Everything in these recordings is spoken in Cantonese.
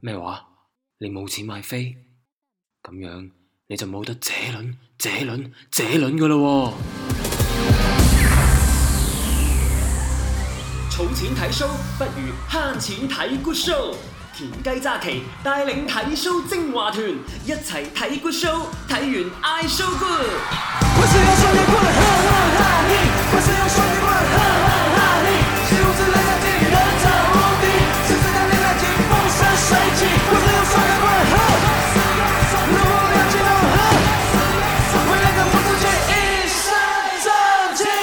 咩話？你冇錢買飛？咁樣你就冇得這輪㗎喇喎！ 儲錢睇 show 不如慳錢睇 good show。田雞揸旗帶領睇 show 精華團，一齊睇 good show， 睇完嗌 show good。我是要雙截棍，哈哈哈嘿！我是要雙截棍，哈哈哈嘿！是如此人生地人造無敵，是自然的熱情風生水起。我是要雙截棍，哈，如果要激動，哈，為了跟不出去一身正氣。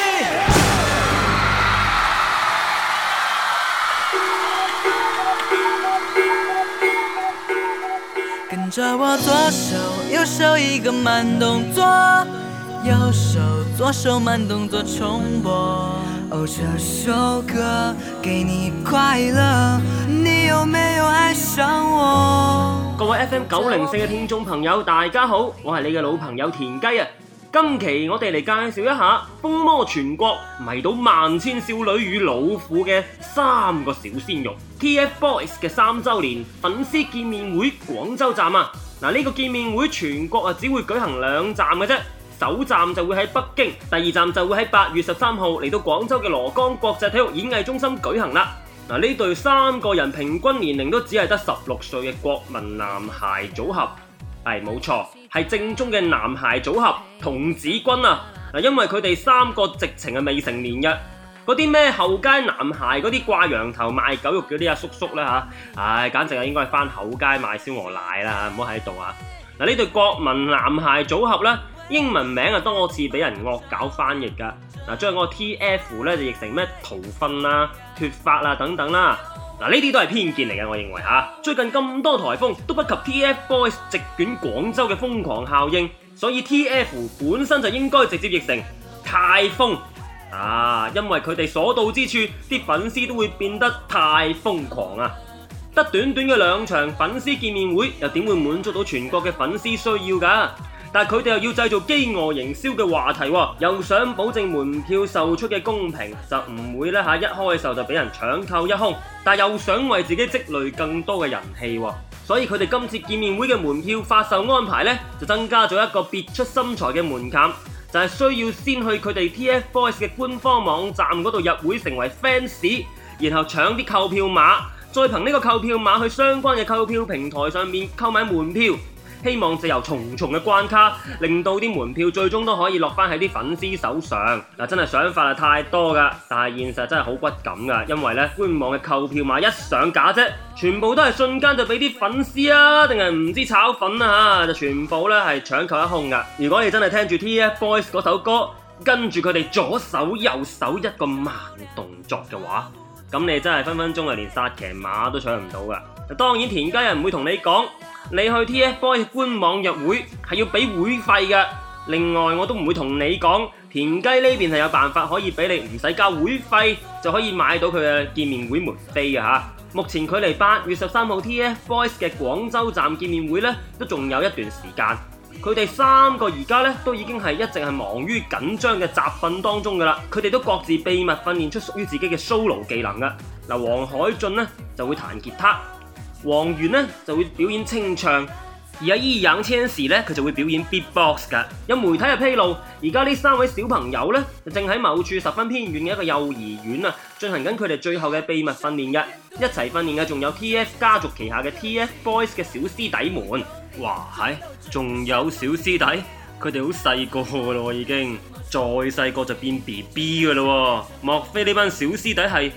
跟着我左手右手一個慢動作，右手左手慢動作重播。哦，這首歌給你快樂，你有沒有愛上我？ 各位 FM904 嘅聽眾朋友，大家好，我係你嘅老朋友田雞啊！今期我哋嚟介紹一下風靡全國、迷倒萬千少女與老婦嘅三個小鮮肉 TFBOYS 嘅3週年粉絲見面會廣州站啊！呢個見面會全國只會舉行2站嘅啫，首站就會喺北京，第二站就會喺8月13號嚟到廣州嘅蘿崗國際體育演藝中心舉行啦。呢對3個人平均年齡都只係得16歲嘅國民男孩組合，係冇錯，係正宗嘅男孩組合童子軍啊！因為佢哋3個直情係未成年嘅，嗰啲咩後街男孩嗰啲掛羊頭賣狗肉嗰啲叔叔啦嚇，簡直係應該係返後街賣燒鵝奶啦，唔好喺度啊！呢對國民男孩組合呢，英文名多次俾人惡搞翻譯㗎，將嗰個 TF 呢就譯成咩逃糞啦、脫髮啦等等啦。呢啲都係偏見嚟嘅，我認為嚇。最近咁多颱風都不及 TFBOYS 席捲廣州嘅瘋狂效應，所以 TF 本身就應該直接譯成太瘋因為佢哋所到之處，啲粉絲都會變得太瘋狂啊！得短短嘅2場粉絲見面會，又點會滿足到全國嘅粉絲需要㗎？但係佢哋又要製造飢餓營銷嘅話題喎，又想保證門票售出嘅公平，就唔會一開售就俾人搶購一空，但又想為自己積累更多嘅人氣喎，所以佢哋今次見面會嘅門票發售安排呢，就增加咗一個別出心裁嘅門檻，就係需要先去佢哋 TFBOYS 嘅官方網站嗰度入會成為 fans， 然後搶啲購票碼，再憑呢個購票碼去相關嘅購票平台上面購買門票。希望藉由重重嘅關卡，令到啲門票最終都可以落返喺啲粉絲手上。真係想法係太多㗎，但係現實真係好骨感㗎，因為官網嘅購票碼一上架啫，全部都係瞬間就俾啲粉絲定係唔知炒粉就全部係搶購一空㗎。如果你真係聽住 TFBOYS 嗰首歌，跟住佢哋左手右手一個慢動作嘅話，咁你真係分分鐘連薩騎馬都搶唔到㗎。當然田雞人唔會同你講，你去 TFBOYS 官網入會係要俾會費嘅。另外我都唔會同你講，田雞呢邊係有辦法可以俾你唔使交會費就可以買到佢嘅見面會門飛嘅嚇。目前距離8月13號 TFBOYS 嘅廣州站見面會都仲有一段時間。佢哋3個而家都已經係一直係忙於緊張嘅集訓當中㗎啦。佢哋都各自秘密訓練出屬於自己嘅 solo 技能㗎。黃海俊就會彈吉他。王源就會表演清唱，而易烊千璽佢就會表演 beatbox 㗎。有媒體披露，而家呢3位小朋友正喺某處十分偏遠嘅一個幼兒園進行緊佢哋最後嘅秘密訓練嘅。一齊訓練嘅仲有 TF 家族旗下嘅 TFBOYS 嘅小師弟們。哇，仲有小師弟，佢哋好細個㗎咯，已經再細個就變 BB 㗎咯。莫非呢班小師弟係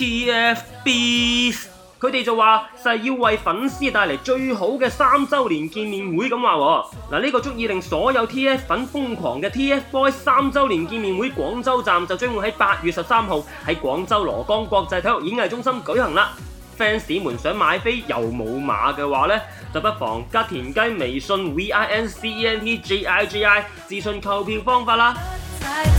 TFBs？佢哋就話係要為粉絲帶嚟最好嘅3週年見面會咁話。呢個足以令所有 TF 粉瘋狂嘅 TFBOYS 3週年見面會廣州站就將會喺8月13號喺廣州蘿崗國際體育演藝中心舉行啦。fans 們想買飛又冇碼嘅話就不妨加田雞微信 VINCENTGIGI 諮詢購票方法啦。